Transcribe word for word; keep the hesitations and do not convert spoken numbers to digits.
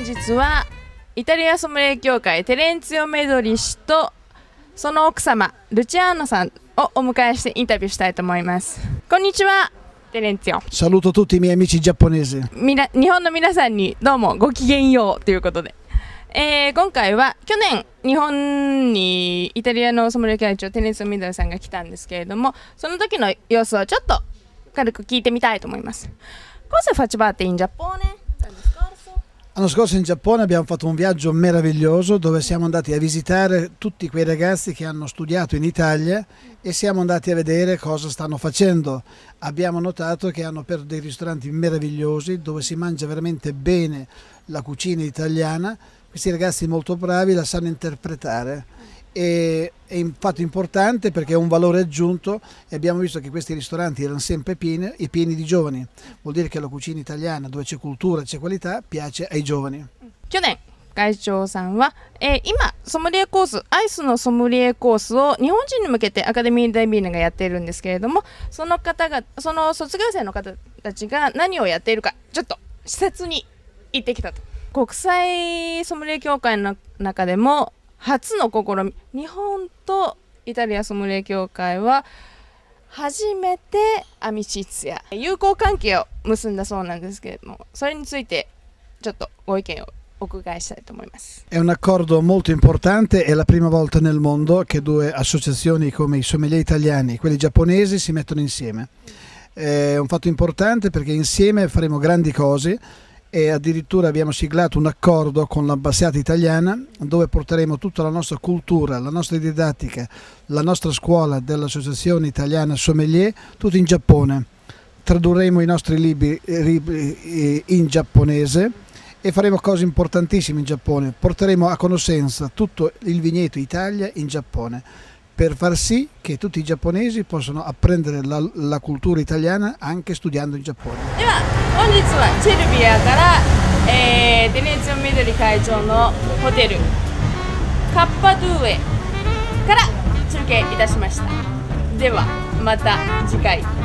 日はイタリアソムリエ協会テレンツィオ・メドリ氏とその奥様ルチアーノさんをお迎えしてインタビューしたいと思います。こんにちは、テレンツィオ。 Saluto tutti i miei amici giapponesi。 みな日本の皆さんにどうもごきげんようということで、えー、今回は去年日本にイタリアのソムリエ会長テレンツィオ・メドリさんが来たんですけれども、その時の様子をちょっと軽く聞いてみたいと思います。Cosa facevate in Giappone l'anno scorso? L'anno scorso in Giappone abbiamo fatto un viaggio meraviglioso dove siamo andati a visitare tutti quei ragazzi che hanno studiato in Italia e siamo andati a vedere cosa stanno facendo. Abbiamo notato che hanno per dei ristoranti meravigliosi dove si mangia veramente bene la cucina italiana. Questi ragazzi molto bravi la sanno interpretare. E è un fatto importante perché è un valore aggiunto e abbiamo visto che questi ristoranti erano sempre pieni e pieni di giovani. Vuol dire che la cucina italiana, dove c'è cultura, c'è qualità, piace ai giovani. 去年会長さんは、えー、今ソムリエコースアイスのソムリエコースを日本人に向けてアカデミー・ダイビーナがやっているんですけれども、その方がその卒業生の方たちが何をやっているかちょっと視察に行ってきたと。国際ソムリエ協会の中でも初の試み、日本とイタリアソムリエ協会は初めてアミシツや友好関係を結んだそうなんですけれども、それについてちょっとご意見をお伺いしたいと思います。 È un accordo molto importante, è la prima volta nel mondo che due associazioni come i sommelier italiani e quelli giapponesi si mettono insieme. È un fatto importante perché insieme faremo grandi cose. E addirittura abbiamo siglato un accordo con l'ambasciata italiana dove porteremo tutta la nostra cultura, la nostra didattica, la nostra scuola dell'Associazione Italiana Sommelier, tutto in Giappone. Tradurremo i nostri libri, libri in giapponese e faremo cose importantissime in Giappone. Porteremo a conoscenza tutto il vigneto Italia in Giappone per far sì che tutti i giapponesi possano apprendere la, la cultura italiana anche studiando in Giappone. では本日はチェルビアから、えー、テレンツィオ・メドリ会長のホテルカッパドゥエから中継いたしました。ではまた次回。